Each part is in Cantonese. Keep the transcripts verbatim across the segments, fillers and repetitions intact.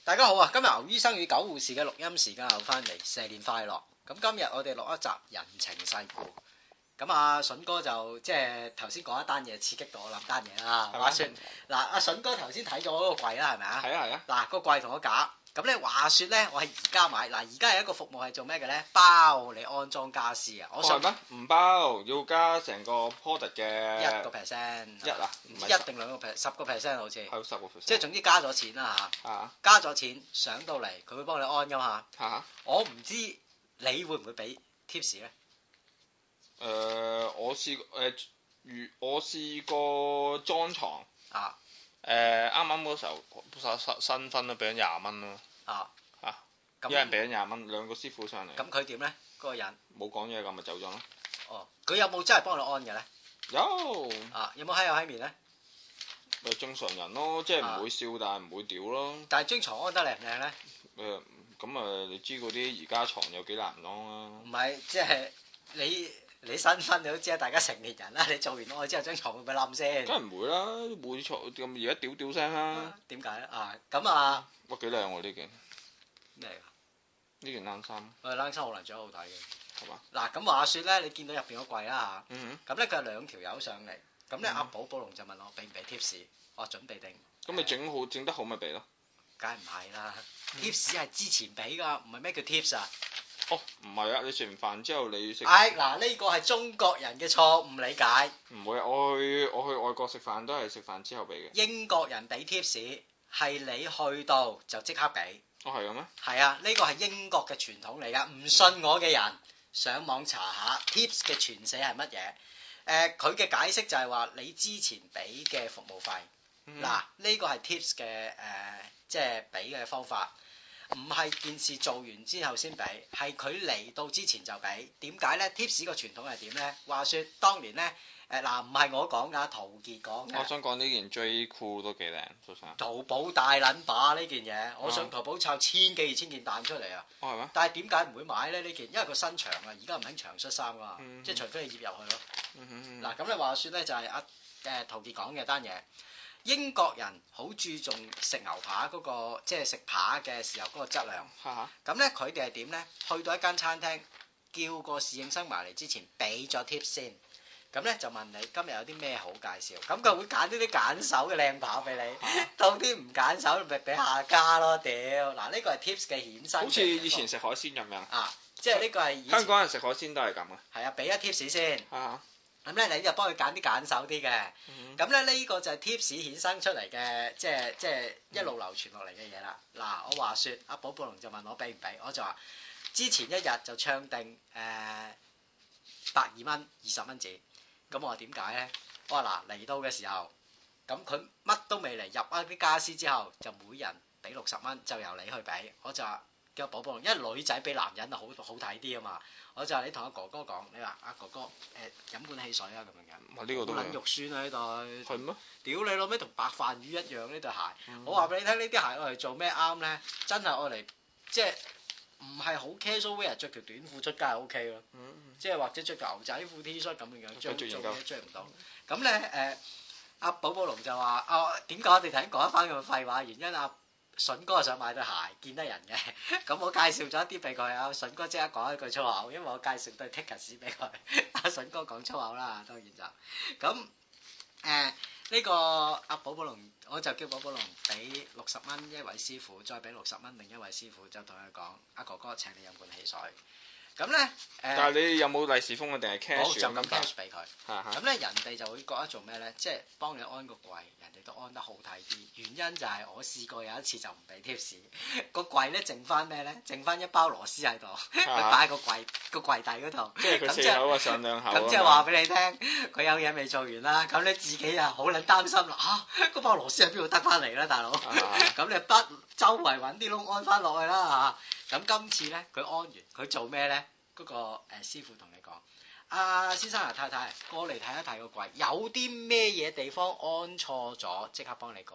大家好啊！今日牛醫生與狗護士嘅錄音時間又翻嚟，蛇年快樂。咁今日我哋錄一集人情世故。咁啊，筍哥就即係頭先講一單嘢刺激到我諗單嘢啦。話説嗱，阿筍哥頭先睇咗嗰個櫃啦，係咪啊？係啊係啊。嗱，個櫃同個架。咁咧話説咧，我係而家買嗱，而家係一個服務係做咩嘅咧？包你安裝家私啊！我想咩？唔包，要加成個 product 嘅一個 percent。一啊？唔知一定兩個 percent，十個 percent 好似。係十個 percent。 即係總之加咗錢啦嚇。啊。加咗錢上到嚟，佢會幫你安噶嘛。嚇嚇。我唔知你會唔會俾 tips 咧？ 誒、呃，我試誒，如、呃、我試過裝床。啊。誒，啱啱嗰時候新新婚都俾咗廿蚊咯。啊啊！一人俾咗廿蚊，兩個師傅上嚟。 咁佢點咧？嗰、那個人冇講嘢咁咪走咗咯。 哦，佢有冇真係幫你安嘅咧？ 有。 啊，有冇閪有閪面咧？ 咪正常人咯，即係唔會笑，啊、但係唔會屌咯。 但係張床安得靚唔靚咧？ 誒，咁啊，你知嗰啲而家床有幾難安啊？ 唔係，即係你。你新婚你都知啊，大家成年人啦，你做完愛之後張床會唔會冧先？ 梗係唔會啦，冇錯咁而家屌屌聲啦。 點解咧？啊，咁啊， 哇幾靚喎呢件。 咩嚟㗎？ 呢件冷衫。 誒冷衫好難著好睇嘅。係嘛？嗱吧， 咁話説咧，你見到入邊個櫃啦嚇。 嗯咁咧佢有兩條友上嚟，咁咧阿寶寶龍就問我俾唔俾 tips，我話準備定。 咁你整好整得好咪俾咯。 梗係唔係啦 ，tips 係之前俾㗎，唔係咩叫 tips 啊？ 哦，唔係啊！你食完飯之後你食。 哎，嗱呢個係中國人嘅錯誤理解。 唔會，我去我去外國食飯都係食飯之後俾嘅。 英國人俾 tips 係你去到就即刻俾。 哦，係咁咩？ 係啊，呢個係英國嘅傳統嚟㗎。唔信我嘅人上網查下 tips 嘅全寫係乜嘢？誒、呃，佢嘅解釋就係話你之前俾嘅服務費。嗱、嗯，呢個係 tips 嘅誒、呃，即係俾嘅方法。唔係件事做完之後先俾，係佢嚟到之前就俾。點解咧 ？Tips 個傳統係點咧？話説當年咧，誒嗱唔係我講㗎，陶傑講嘅。 我想講呢件 J. Crew 都幾靚，蘇生。 淘寶大撚把呢件嘢，我上淘寶抄千幾二千件彈出嚟啊！ 哦係咩？ 但係點解唔會買咧呢件？因為佢新長啊，而家唔興長恤衫㗎嘛， 嗯、哼即係除非你醃入去咯。 嗯哼嗱咁你話説咧就係阿誒陶傑講嘅單嘢。英國人好注重食牛扒嗰、那個，即係食扒嘅時候嗰個質量。咁咧佢哋係點咧？去到一間餐廳，叫個侍應生埋嚟之前，俾咗 tip 先。咁咧就問你今日有啲咩好介紹？咁佢會揀呢啲揀手嘅靚扒俾你。到啲唔揀手，咪俾下家咯。屌，嗱呢個係 tips 嘅衍生。 好似以前食海鮮咁樣。啊， 即係呢個係香港人食海鮮都係咁啊。係啊，俾一 tips 先。 啊。 咁咧，你就幫佢揀啲揀手啲嘅。咁咧，呢個就係 tips 衍生出嚟嘅，即係即係一路流傳落嚟嘅嘢啦。嗱，我話説，阿寶寶龍就問我俾唔俾，我就話之前一日就唱定誒百二蚊、二十蚊紙。咁我話點解咧？我話嗱，嚟到嘅時候，咁佢乜都未嚟，入一啲家私之後，就每人俾六十蚊，就由你去俾。我就話叫寶寶龍，因為女仔俾男人啊好好睇啲啊嘛。我就話你同阿哥哥講，你話阿哥哥誒飲罐汽水啊咁樣嘅， 哇呢個都撚肉酸啊呢對， 係咩？ 屌你老味同白飯魚一樣呢對鞋，我話俾你聽呢啲鞋我嚟做咩啱咧？真係我嚟即係唔係好 casual wear，着條短褲出街係 OK 咯，即係或者着條牛仔褲 T 恤咁樣樣，着做嘢着唔到。咁咧誒，阿寶寶龍就話啊點解我哋頭先講一番咁嘅廢話？原因啊。筍哥想買對鞋，見得人嘅，咁我介紹咗一啲俾佢啊。筍哥即刻講一句粗口，因為我介紹對 Tickers 俾佢。阿筍哥講粗口啦，當然就咁誒呢個阿寶寶龍，我就叫寶寶龍俾六十蚊一位師傅，再俾六十蚊另一位師傅，就同佢講：阿哥哥請你飲罐汽水。咁咧誒， 但係你有冇利是封啊？定係 cash 就咁 cash 俾佢。 嚇嚇。 咁咧人哋就會覺得做咩咧？即係幫你安個櫃，人哋都安得好睇啲。原因就係我試過有一次就唔俾 tips，個櫃咧剩翻咩咧？剩翻一包螺絲喺度，佢擺喺個櫃個櫃底嗰度。即係佢四口啊上兩口。 咁即係話俾你聽，佢有嘢未做完啦。咁你自己啊好撚擔心啦嚇，嗰包螺絲喺邊度得翻嚟咧，大佬？咁你不周圍揾啲窿安翻落去啦嚇。咁今次咧佢安完，佢做咩咧？嗰、那個誒、呃、師傅同你講，阿、啊、先生啊太太，過嚟睇一睇個櫃，有啲咩嘢地方安錯咗，即刻幫你改。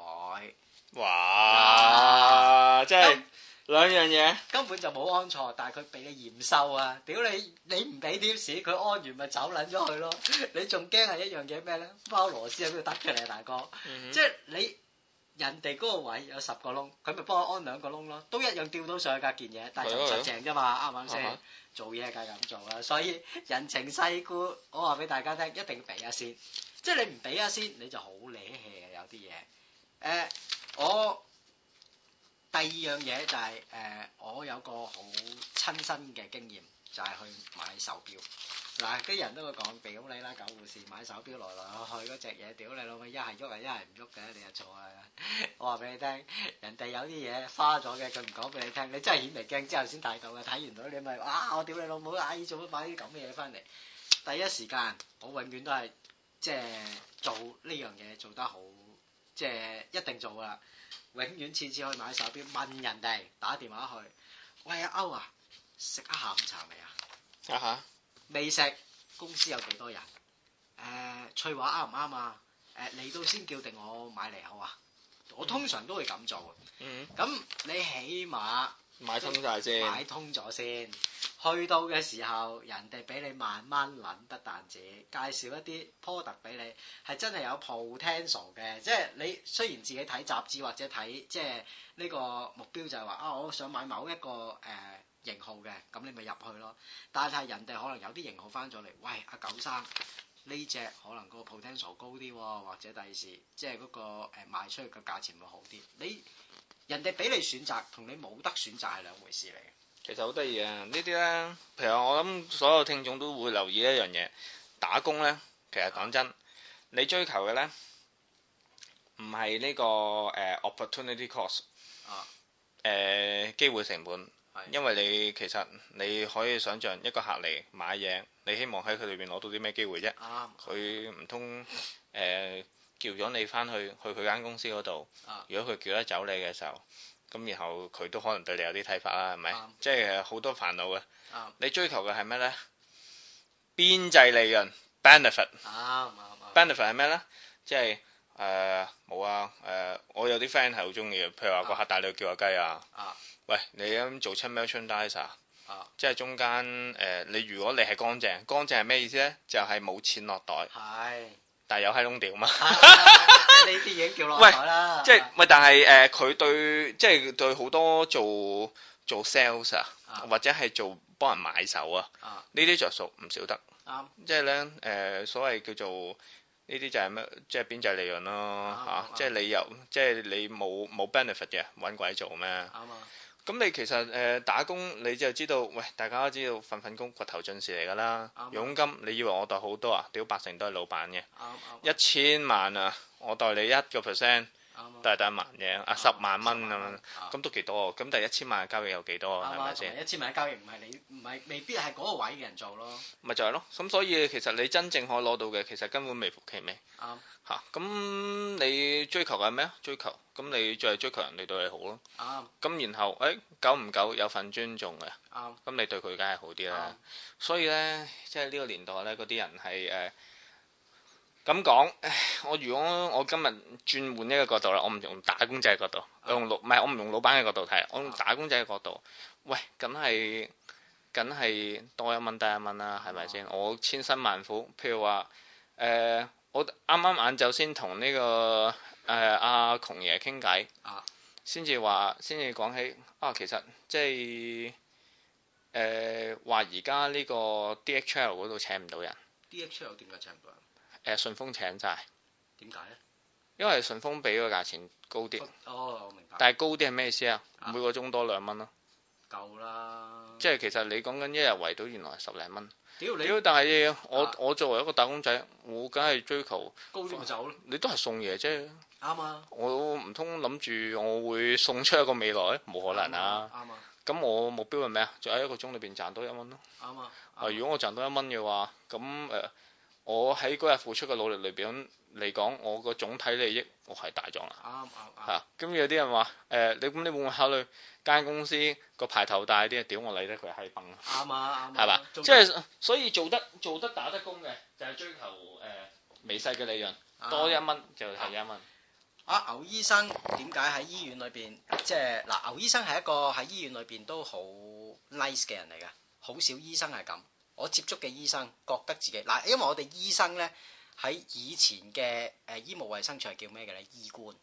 哇！即係兩樣嘢， 根本就冇安錯，但係佢俾你驗收啊！屌你，你唔俾貼士，佢安完咪走撚咗去咯。你仲驚係一樣嘢咩咧？包螺絲喺邊度得嘅你大哥，嗯、哼即係你人哋嗰個位有十個窿，佢咪幫我安兩個窿咯，都一樣吊到上去架件嘢，但係就唔實淨啫嘛，啱唔啱先？做嘢梗係咁做啦，所以人情世故，我話俾大家聽，一定要俾一先，即係你唔俾一先，你就好瀨氣嘅有啲嘢。誒、呃，我第二樣嘢就係、是、誒、呃，我有個好親身嘅經驗，就係、是、去買手錶。嗱，啲人都會講屌你啦，狗護士買手錶來來去去嗰隻嘢，屌你老味，一係喐啊，一係唔喐嘅，你又錯啊！我話俾你聽，人哋有啲嘢花咗嘅，佢唔講俾你聽，你真係顯微鏡之後先睇到嘅，睇完到你咪啊！我屌你老母，哎做乜買啲咁嘅嘢翻嚟？第一時間我永遠都係即係做呢樣嘢做得好，即係一定做噶，永遠次次去買手錶問人哋打電話去，喂阿歐啊，食咗下午茶未啊？啊哈！未食，公司有幾多人？誒、呃，翠華啱唔啱啊？誒、呃，嚟到先叫定我買嚟好啊？我通常都會咁做。嗯。咁你起碼買通晒先。 買通咗先，去到嘅時候，人哋俾你慢慢諗，不但止介紹一啲 product 俾你，係真係有 potential 嘅。即係你雖然自己睇雜誌或者睇，即係呢個目標就係話啊，我想買某一個誒。呃型號嘅，咁你咪入去咯。但係人哋可能有啲型號翻咗嚟，喂阿九生呢隻可能個 potential 高啲，或者第二時即係嗰個誒賣出去嘅價錢會好啲。你人哋俾你選擇，同你冇得選擇係兩回事嚟嘅。 其實好得意啊！呢啲咧，譬如我諗所有聽眾都會留意一樣嘢，打工咧，其實講真，啊、你追求嘅咧唔係呢個誒、uh, opportunity cost 啊，誒機會成本。因為你其實你可以想象一個客嚟買嘢，你希望喺佢裏邊攞到啲咩機會啫？佢唔通誒叫咗你翻去去佢間公司嗰度，啊、如果佢叫得走你嘅時候，咁然後佢都可能對你有啲睇法啦，係咪？啊、即係好多煩惱嘅。啊、你追求嘅係咩呢？邊際利潤 benefit。benefit 係咩呢？即係誒冇啊誒、呃，我有啲 friend 係好中意嘅，譬如話個客帶你去叫下雞啊。啊喂，你咁做親 merchandiser，啊，即係中間誒、呃，你如果你係乾淨，乾淨係咩意思咧？就係、是、冇錢落袋，係是，但係有閪窿屌嘛， 呢啲已經叫落袋啦。即係喂，但係誒，佢、呃、對即係對好多做做 sales 啊，啊或者係做幫人買手啊，呢啲着數唔少得，啱、啊，即係咧誒，所謂叫做。呢啲就係咩？即係邊際利潤咯嚇！即係你又即係你冇冇 benefit 嘅，揾鬼做咩？啱啊！咁你其實誒、呃、打工你就知道，喂，大家都知道份份工掘頭盡事嚟㗎啦。佣金你以為我袋好多啊？屌八成都係老闆嘅。一千萬啊！我袋你一個 percent。都係得一萬嘅，啊十萬蚊咁樣，咁都幾多？咁第一千萬嘅交易有幾多？係咪先？ 一千萬嘅交易唔係你唔係未必係嗰個位嘅人做咯。 咪就係咯，咁所以其實你真正可以攞到嘅，其實根本微乎其微。啱。嚇，咁你追求嘅係咩啊？追求，咁你就係追求人哋對你好咯。啱。咁然後，誒久唔久有份尊重嘅。啱。咁你對佢梗係好啲啦。所以咧，即係呢個年代咧，嗰啲人係誒。咁講，我如果我今日轉換一個角度啦，我唔用打工仔嘅角度，啊、我用老唔係我唔用老闆嘅角度睇，我用打工仔嘅角度，喂，梗係梗係多一蚊得一蚊啦，係咪先？我千辛萬苦，譬如話，誒、呃，我啱啱晏晝先同呢個誒阿窮爺傾偈，先至話，先至講起啊，其實即係誒話而家呢個 D H L 嗰度請唔到人 ，D H L 點解請唔到人？ 誒順豐請晒， 點解咧？ 因為順豐俾個價錢高啲。 哦，我明白。但係高啲係咩意思啊？每個鐘多兩蚊咯。夠啦。即係其實你講緊一日圍到原來係十零蚊。屌你！但係我、啊、我作為一個打工仔，我梗係追求高啲咪走咯。 你都係送嘢啫。啱啊。我唔通諗住我會送出一個未來？冇可能啊。啱啊。咁我目標係咩啊？就喺一個鐘裏邊賺多一蚊咯。啱啊。啊，如果我賺多一蚊嘅話，咁誒。呃我喺嗰日付出嘅努力裏邊嚟講，我個總體利益我係大咗啦。啱啱啱。嚇，咁有啲人話誒，你咁你會唔會考慮間公司個牌頭大啲啊？屌我理得佢閪崩。啱啊啱。係嘛？即係所以做得做得打得工嘅就係追求誒微細嘅利潤，多一蚊就係一蚊。 啊，牛醫生點解喺醫院裏邊即係嗱？牛醫生係一個喺醫院裏邊都好 nice 嘅人嚟㗎，好少醫生係咁。我接觸嘅醫生覺得自己嗱，因為我哋醫生咧喺以前嘅誒醫務衛生處係叫咩嘅咧？醫官，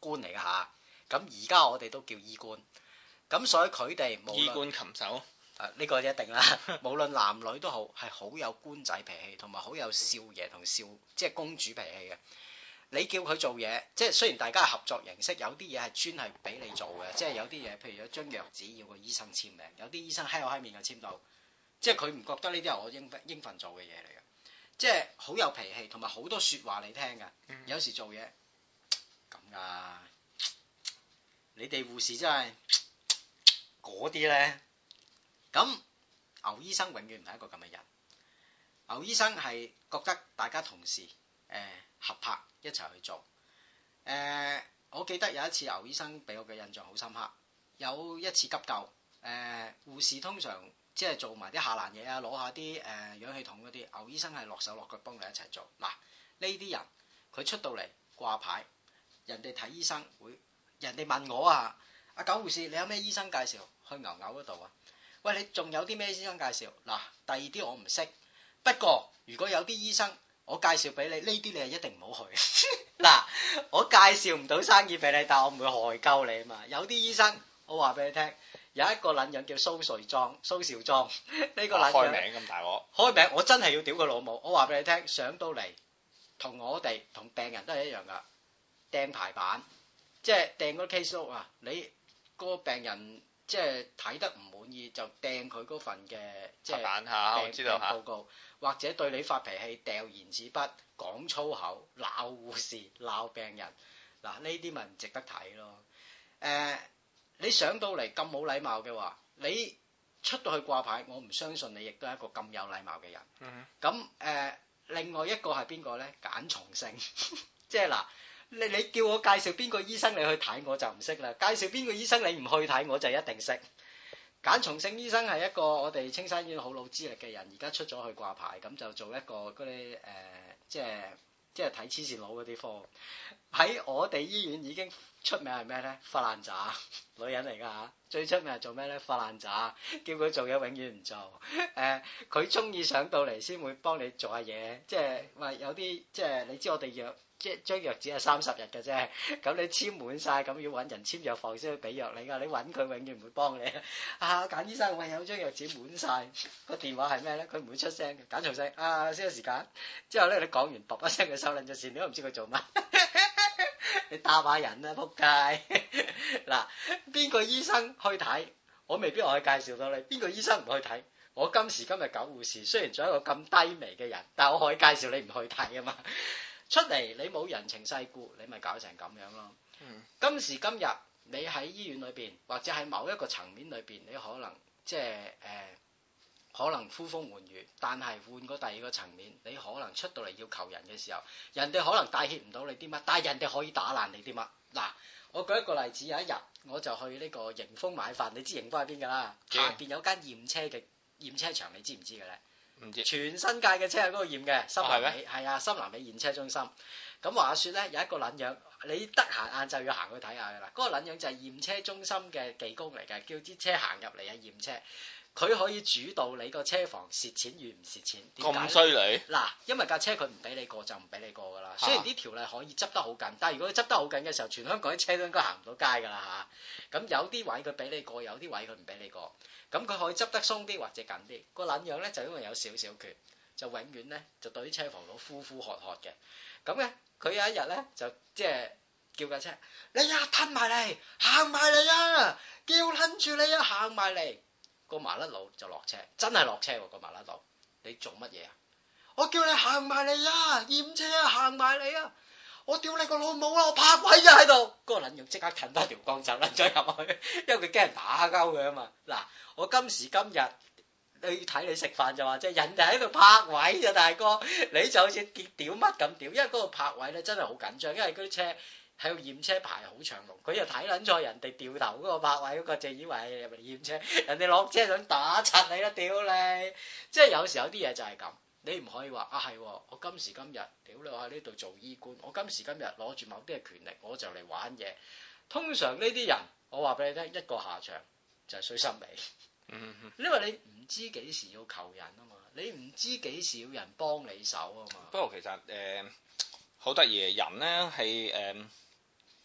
官嚟㗎嚇。咁而家我哋都叫醫官。咁所以佢哋醫官禽獸。 誒呢、這個一定啦，無論男女都好，係好有官仔脾氣，同埋好有少爺同少即係公主脾氣嘅。你叫佢做嘢，即係雖然大家係合作形式，有啲嘢係專係俾你做嘅，即係有啲嘢，譬如有張藥紙要個醫生簽名，有啲醫生閪口閪面就簽到，即係佢唔覺得呢啲係我應應份做嘅嘢嚟嘅，即係好有脾氣，同埋好多説話你聽㗎。嗯、有時做嘢咁㗎，你哋護士真係嗰啲咧。咁牛醫生永遠唔係一個咁嘅人，牛醫生係覺得大家同事誒、呃、合拍一齊去做。誒、呃，我記得有一次牛醫生俾我嘅印象好深刻，有一次急救，誒、呃、護士通常即係做埋啲下欄嘢啊，攞下啲誒、呃、氧氣筒嗰啲，牛醫生係落手落腳幫你一齊做。嗱，呢啲人佢出到嚟掛牌，人哋睇醫生會，人哋問我啊，阿狗護士你有咩醫生介紹去牛牛嗰度啊？喂，你仲有啲咩醫生介紹？嗱，第二啲我唔識，不過如果有啲醫生我介紹俾你，呢啲你係一定唔好去。嗱，我介紹唔到生意俾你，但係我唔會害鳩你啊嘛。有啲醫生我話俾你聽，有一個撚樣叫蘇瑞莊、蘇兆莊，呢、這個撚樣開名咁大鑊， 開名我真係要屌佢老母。我話俾你聽，上到嚟同我哋同病人都係一樣噶，掟排版，即係掟嗰 case note啊，你個病人。即係睇得唔滿意就掟佢嗰份嘅即係病病報告，或者對你發脾氣掉言紙筆、講粗口、鬧護士、鬧病人，嗱呢啲咪唔值得睇咯。誒、呃，你上到嚟咁冇禮貌嘅話，你出到去掛牌，我唔相信你亦都係一個咁有禮貌嘅人。咁誒、嗯呃，另外一個係邊個咧？揀從性，即係嗱。你你叫我介紹邊個醫生你去睇我就唔識啦，介紹邊個醫生你唔去睇我就一定識。簡松勝醫生係一個我哋青山醫院好老資歷嘅人，而家出咗去掛牌，咁就做一個嗰啲誒，即係即係睇黐線佬嗰啲科。喺我哋醫院已經出名係咩咧？發爛渣，女人嚟㗎嚇。最出名係做咩咧？發爛渣，叫佢做嘢永遠唔做。誒、呃，佢中意上到嚟先會幫你做下嘢，即係話有啲即係你知我哋藥。即係張藥紙係三十日嘅啫，咁你簽滿晒，咁要揾人簽藥房先去俾藥你㗎，你揾佢永遠唔會幫你。啊，簡醫生，喂，有張藥紙滿晒，個電話係咩咧？佢唔會出聲嘅，簡重聲。啊，先有時間。之後咧，你講完，卜一聲佢收撚咗線，你都唔知佢做乜。你答下人啦，仆街。嗱，邊個醫生去睇？我未必我去介紹到你。邊個醫生唔去睇？我今時今日狗護士，雖然做一個咁低微嘅人，但我可以介紹你唔去睇啊嘛。出嚟你冇人情世故，你咪搞成咁樣咯。嗯、今時今日你喺醫院裏邊，或者喺某一個層面裏邊，你可能即係誒、呃，可能呼風喚雨，但係換個第二個層面，你可能出到嚟要求人嘅時候，人哋可能帶挈唔到你啲乜，但係人哋可以打爛你啲乜。嗱，我舉一個例子，有一日我就去呢個迎豐買飯，你知迎豐喺邊㗎啦？嗯、下邊有間驗車嘅驗車場，你知唔知嘅咧？唔知全新界嘅車喺嗰度驗嘅，深南尾係啊，深南尾驗車中心。咁話說咧，有一個撚樣，你得閒晏晝要行去睇下㗎啦。嗰、那個撚樣就係驗車中心嘅技工嚟嘅，叫啲車行入嚟啊驗車。佢可以主導你個車房蝕錢與唔蝕錢。 咁犀利？ 嗱，因為架車佢唔俾你過就唔俾你過㗎啦。雖然啲條例可以執得好緊，但係如果佢執得好緊嘅時候，全香港啲車都應該行唔到街㗎啦嚇。咁有啲位佢俾你過，有啲位佢唔俾你過。咁佢可以執得鬆啲或者緊啲。個撚樣咧就因為有少少權，就永遠咧就對啲車房佬呼呼喝喝嘅。咁咧佢有一日咧就即係叫架車，你啊吞埋嚟，行埋嚟啊！叫撚住你啊，行埋嚟。個麻甩佬就落車，真係落車喎！個麻甩佬，你做乜嘢啊？我叫你行埋嚟啊！驗車啊，行埋嚟啊！我屌你個老母啊！我泊位啊喺度。嗰個撚樣即刻褪翻條光走撚咗入去，因為佢驚人打交佢啊嘛。嗱，我今時今日你睇你食飯就話即係人哋喺度泊位咋大哥，你就好似屌乜咁屌，因為嗰個泊位咧真係好緊張，因為嗰啲車。喺度驗車排好長龍，佢又睇撚咗人哋掉頭嗰個泊位嗰個，就以為係入嚟驗車，人哋落車想打柒你啦，屌你！即係有時候有啲嘢就係咁，你唔可以話啊係，我今時今日屌你我喺呢度做醫官，我今時今日攞住某啲嘅權力，我就嚟玩嘢。通常呢啲人，我話俾你聽，一個下場就係衰心理。嗯哼，因為你唔知幾時要求人啊嘛，你唔知幾時要人幫你手啊嘛。 不過其實誒，好得意嘅人咧係誒。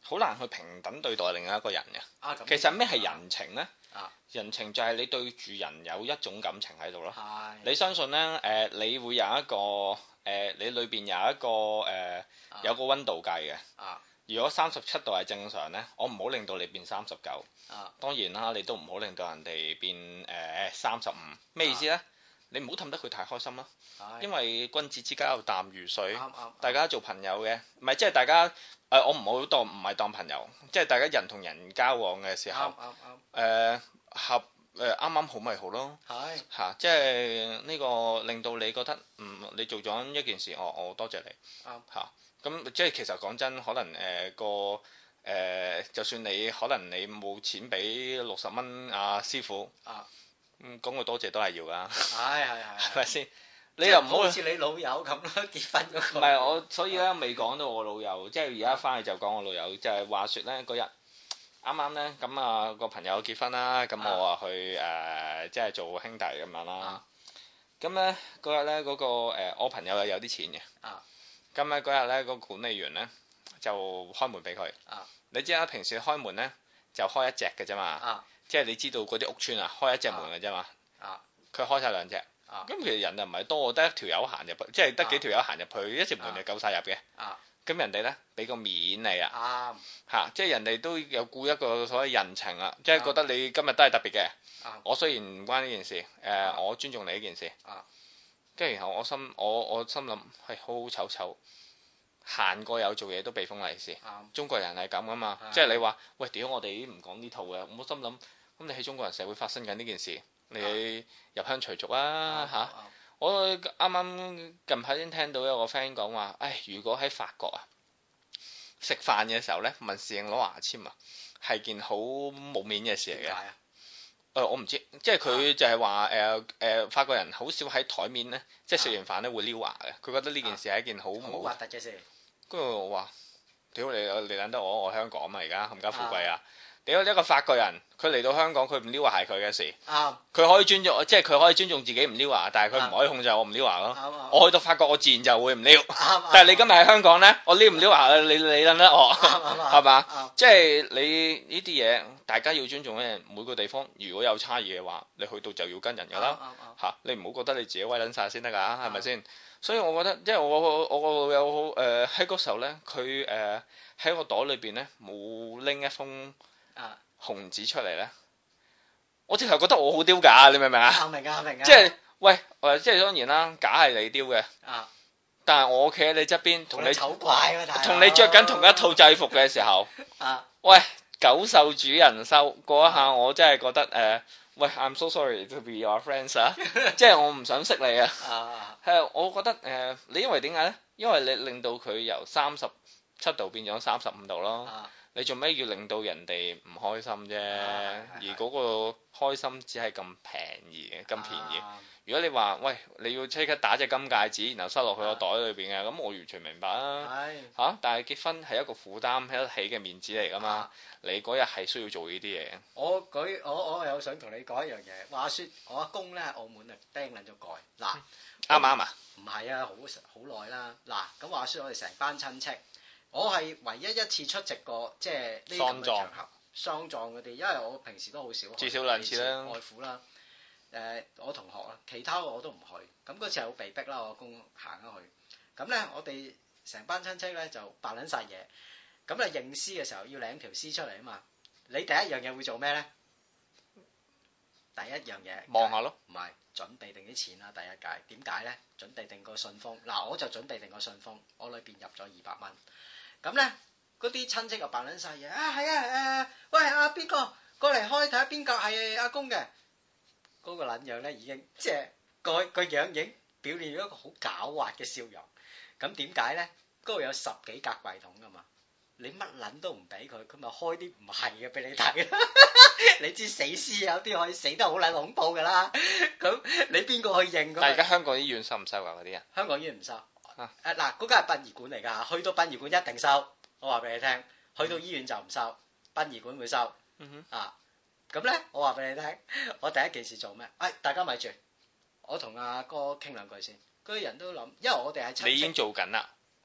好難去平等對待另一個人嘅。 啊、 其實咩係人情咧？ 啊、 人情就係你對住人有一種感情喺度咯。 係。 你相信咧？誒、呃，你會有一個誒、呃，你裏邊有一個誒、呃，有個溫度計嘅。啊。如果三十七度係正常咧，我唔好令到你變三十九。啊。當然啦，你都唔好令到人哋變誒三十五。咩、呃、意思咧？啊、你唔好氹得佢太開心啦。係。因為君子之交淡如水。啱啱。大家做朋友嘅，唔係即係大家誒、呃，我唔好當唔係當朋友，即係大家人同人交往嘅時候。啱啱啱。誒合誒啱啱好咪好咯。係。嚇、啊，即係呢個令到你覺得嗯，你做咗一件事，我我多謝你。啱。嚇、啊。咁即係其實講真，可能誒、呃、個誒、呃，就算你可能你冇錢俾六十蚊阿師傅，啊，咁講個多謝都係要㗎。係係係，係咪先？你又唔好似你老友咁咯，結婚嗰個。唔係我，所以咧未講到我老友，即係而家翻去就講我老友，就係、是、話説咧嗰日啱啱咧，咁啊個朋友結婚啦，咁我啊去誒、呃、即係做兄弟咁樣啦。咁咧嗰日咧嗰個、呃、我朋友係有啲錢嘅。啊。咁咧嗰日咧個管理員咧就開門俾佢。啊！你知啦，平時開門咧就開一隻嘅啫嘛。啊！即係你知道嗰啲屋邨啊，開一隻門嘅啫嘛。啊！佢開晒兩隻。啊！咁其實人又唔係多，得一條友行入去，即係得幾條友行入去，一隻門就夠晒入嘅。啊！咁人哋咧俾個面你啊。啱。嚇！即係人哋都有顧一個所謂人情啊，即係覺得你今日都係特別嘅。啊！我雖然唔關呢件事，誒我尊重你呢件事。啊！跟住然後我心我我心諗係好好醜醜，行過有做嘢都被封利是。嗯、中國人係咁噶嘛，嗯、即係你話喂屌我哋已經唔講呢套嘅，我心諗咁你喺中國人社會發生緊呢件事，你入鄉隨俗啊嚇！我啱啱近排先聽到有個 friend 講話，唉如果喺法國啊食飯嘅時候咧問侍應攞牙籤啊，係件好冇面嘅事嚟嘅。誒、呃、我唔知，即係佢就係話誒誒法國人好少喺台面咧，即係食完飯咧會撩牙嘅，佢覺得呢件事係一件好好核突嘅事。跟住我話：屌你你撚得我，我香港嘛而家冚家富貴啊！屌一個法國人，佢嚟到香港佢唔撩牙係佢嘅事。啱。佢可以尊重，即係佢可以尊重自己唔撩牙，但係佢唔可以控制我唔撩牙咯。啱。我去到法國我自然就會唔撩。啱。但係你今日喺香港咧，我撩唔撩牙你你撚得我係嘛？即係你呢啲嘢。大家要尊重咧，每個地方如果有差異嘅話，你去到就要跟人㗎啦嚇，你唔好覺得你自己威撚晒先得㗎，係咪先？所以我覺得，即係我我我個老友誒喺嗰時候咧，佢誒喺個袋裏邊咧冇拎一封紅紙出嚟咧，我直頭覺得我好丟架，你明唔明啊？明啊明啊！即係喂誒，即係當然啦，假係你丟嘅，但係我企喺你側邊，同你醜怪喎，同你着緊同一套制服嘅時候，喂。久受主人收嗰一下，我真係覺得誒、呃，喂 ，I'm so sorry to be your friends 啊，即係我唔想識你啊。係，我覺得誒、呃，你因為點解咧？因為你令到佢由三十七度變咗三十五度咯。啊、你做咩要令到人哋唔開心啫？啊、而嗰個開心只係咁平宜嘅，咁便宜。啊、如果你話喂，你要即刻打隻金戒指，然後塞落去個袋裏邊嘅，咁、啊、我完全明白啊。係嚇、啊，但係結婚係一個負擔起得起嘅面子嚟㗎嘛。啊、你嗰日係需要做呢啲嘢。我舉我我有想同你講一樣嘢。話説我阿公咧喺澳門啊釘撚咗蓋。嗱啱唔啱啊？唔係啊，好好耐啦。嗱咁話説我哋成班親戚，我係唯一一次出席過即係呢啲場合喪葬嗰啲，因為我平時都好少去。至少兩次啦。外父啦。誒、呃，我同學啊，其他我都唔去。咁嗰次係好被逼啦，我阿公行咗去。咁咧，我哋成班親戚咧就扮撚晒嘢。咁咧認屍嘅時候要領條屍出嚟啊嘛。你第一樣嘢會做咩咧？第一樣嘢望下咯。唔係準備定啲錢啦，第一屆點解咧？準備定個信封。嗱，我就準備定個信封，我裏邊入咗二百蚊。咁咧，嗰啲親戚就扮撚晒嘢啊！係啊誒、呃，喂阿邊個過嚟開睇下邊個係阿公嘅。嗰個撚樣咧已經即係個個樣已經表現咗一個好狡猾嘅笑容。咁點解咧？嗰度有十幾格櫃桶噶嘛，你乜撚都唔俾佢，佢咪開啲唔係嘅俾你睇。你知死屍有啲可以死得好撚恐怖噶啦。咁你邊個去認？但係而家香港醫院收唔收啊？嗰啲人？香港醫院唔收。誒嗱，嗰間係殯儀館嚟㗎，去到殯儀館一定收。我話俾你聽，去到醫院就唔收，殯儀館會收。嗯哼。啊。咁咧，我話俾你聽，我第一件事做咩？哎，大家咪住，我同阿哥傾兩句先。嗰啲人都諗，因為我哋係親戚。你已經做緊啦。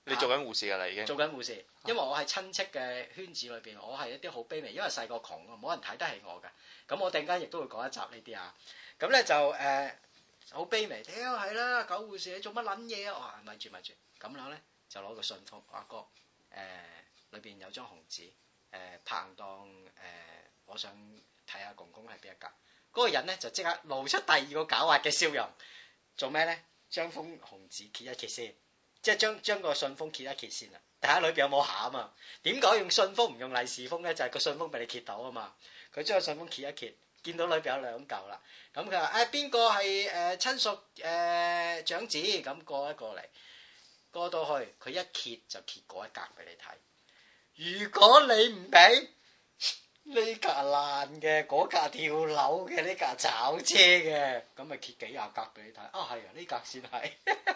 你做緊護士㗎啦已經。 做緊護士，因為我喺親戚嘅圈子裏邊，我係一啲好卑微，因為細個窮啊，冇人睇得起我㗎。咁我突然間亦都會講一集呢啲啊。咁咧就誒好卑微，屌係啦，狗護士你做乜撚嘢啊？我話咪住咪住，咁樣咧就攞個信封，阿哥誒裏邊有張紅紙，誒拍檔誒，我想睇下公公係邊一格。嗰個人咧就即刻露出第二個狡猾嘅笑容，做咩咧？將封紅紙揭一揭先，即係將將個信封揭一揭先啦，睇下裏邊有冇餡啊？點解用信封唔用利是封咧？就係個信封俾你揭到啊嘛。佢將個信封揭一揭，見到裏邊有兩嚿啦。咁佢話誒邊個係誒親屬誒長子？咁過一過嚟，過到去佢一揭就揭嗰一格俾你睇。如果你唔俾，呢格爛嘅，嗰格跳樓嘅，呢格炒車嘅，咁咪揭幾廿格俾你睇。啊係啊，呢格先係。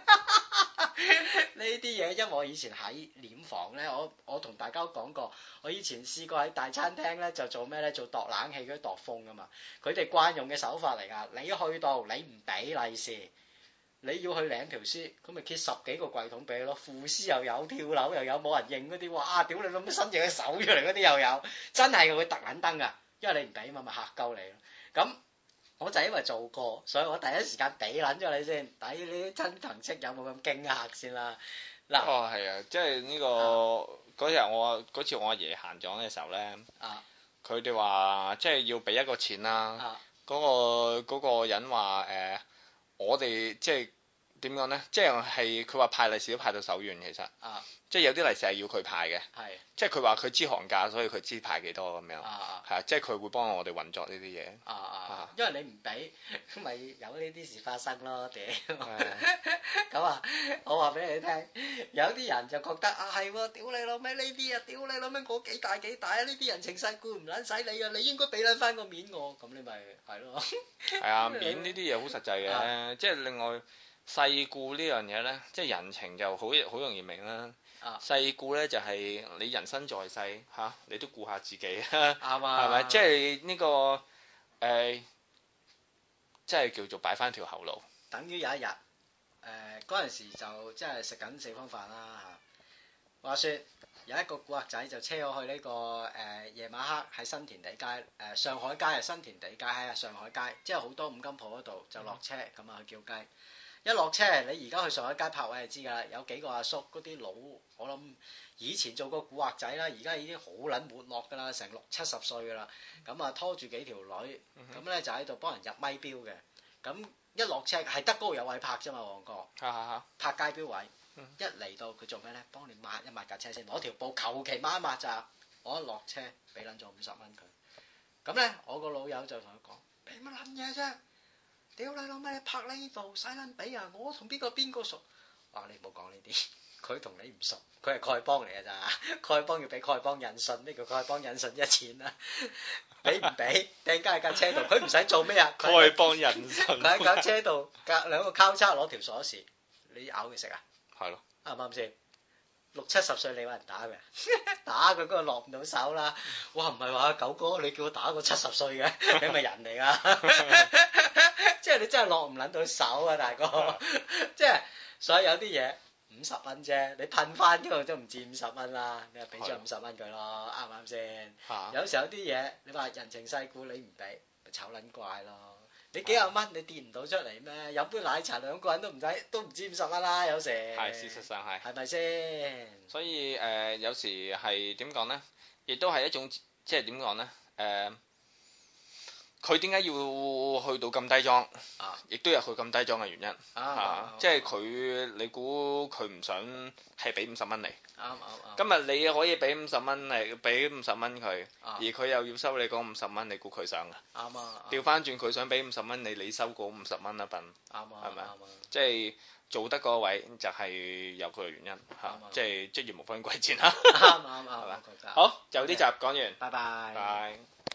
呢啲嘢，因為我以前喺殮房咧，我我同大家都講過，我以前試過喺大餐廳咧就做咩咧，做度冷氣嗰啲度風噶嘛。佢哋慣用嘅手法嚟噶，你去到你唔俾利是，你要去領條屍，咁咪揭十幾個櫃桶俾你咯。副屍又有，跳樓又有，冇人認嗰啲，哇！屌你老母伸隻手出嚟嗰啲又有，真係會突撚燈噶，因為你唔俾嘛，咪嚇鳩你咯。咁我就因為做過，所以我第一時間俾撚咗你先，抵你啲親朋戚友冇咁驚嚇先啦。嗱， 哦係啊，即係呢個嗰日我嗰次我阿爺行咗嘅時候咧，佢哋話即係要俾一個錢啦，嗰個嗰個人話誒，我哋即係點講咧？即係係佢話派利是都派到手軟，其實，即係有啲利是係要佢派嘅，即係佢話佢知行價，所以佢知派幾多咁樣，係啊，即係佢會幫我哋運作呢啲嘢。啊啊， 因為你唔俾，咪有呢啲事發生咯，屌！咁啊，我話俾你聽，有啲人就覺得啊係喎，屌你老味呢啲啊，屌你老味我幾大幾大啊，呢啲人情世故唔撚使你啊，你應該俾撚翻個面我，咁你咪係咯。係啊，面呢啲嘢好實際嘅，即係另外世故呢樣嘢咧，即係人情就好好容易明啦。世故咧就係你人生在世嚇，你都顧下自己啊，係咪？即係呢個誒，即係叫做擺翻條後路。 等於有一日，誒嗰陣時就即係食緊四方飯啦嚇。話説有一個古惑仔就車我去呢個誒夜晚黑喺新田地街誒上海街啊，新田地街喺啊上海街，即係好多五金鋪嗰度就落車咁啊去叫雞。一落車，你而家去上海街泊位就知㗎啦，有幾個阿叔嗰啲老，我諗以前做過古惑仔啦，而家已經好撚沒落㗎啦，成六七十歲㗎啦，咁啊拖住幾條女，咁咧就喺度幫人入咪標嘅，咁一落車係得嗰度有位泊啫嘛，旺角，泊街標位，一嚟到佢做咩咧？幫你抹一抹架車先，攞條布求其抹一抹咋，我一落車俾撚咗五十蚊佢，咁咧我個老友就同佢講：俾乜撚嘢啫？屌你老味，拍呢度使撚俾啊！我同邊個邊個熟？啊，你唔好講呢啲，佢同你唔熟，佢係丐幫嚟嘅咋？丐幫要俾丐幫引信，呢個丐幫引信一錢啦，俾唔俾？掟架喺架車度，佢唔使做咩啊？ 丐幫引信， 佢喺架車度隔兩個交叉攞條鎖匙，你咬佢食啊？係咯，啱唔啱先？六七十歲你揾人打嘅，打佢嗰個落唔到手啦。哇，唔係話九哥，你叫我打個七十歲嘅，你咪人嚟噶？即係你真係落唔撚到手啊，大哥！即係所以有啲嘢五十蚊啫，你噴翻嗰度都唔止五十蚊啦，你就俾咗五十蚊佢咯，啱唔啱先？有時候有啲嘢你話人情世故你唔俾，咪醜撚怪咯。你幾廿蚊你跌唔到出嚟咩？飲杯奶茶兩個人都唔使，都唔止五十蚊啦，有時。 係事實上係。 係咪先？ 所以誒、呃，有時係點講咧？亦都係一種即係點講咧？誒、呃，佢點解要去到咁低裝？啊！亦都有佢咁低裝嘅原因。啊！啊即係佢，你估佢唔想係俾五十蚊你？啱啱啱。今日你可以俾五十蚊嚟，俾五十蚊佢，而佢又要收你嗰五十蚊，你估佢想噶？啱啊！調翻轉佢想俾五十蚊你，你收嗰五十蚊一份。啱啊！係咪啊？即係做得嗰位就係有佢嘅原因嚇，即係職業無分貴賤啦。啱啱啱。好，就呢集講完。拜拜。拜。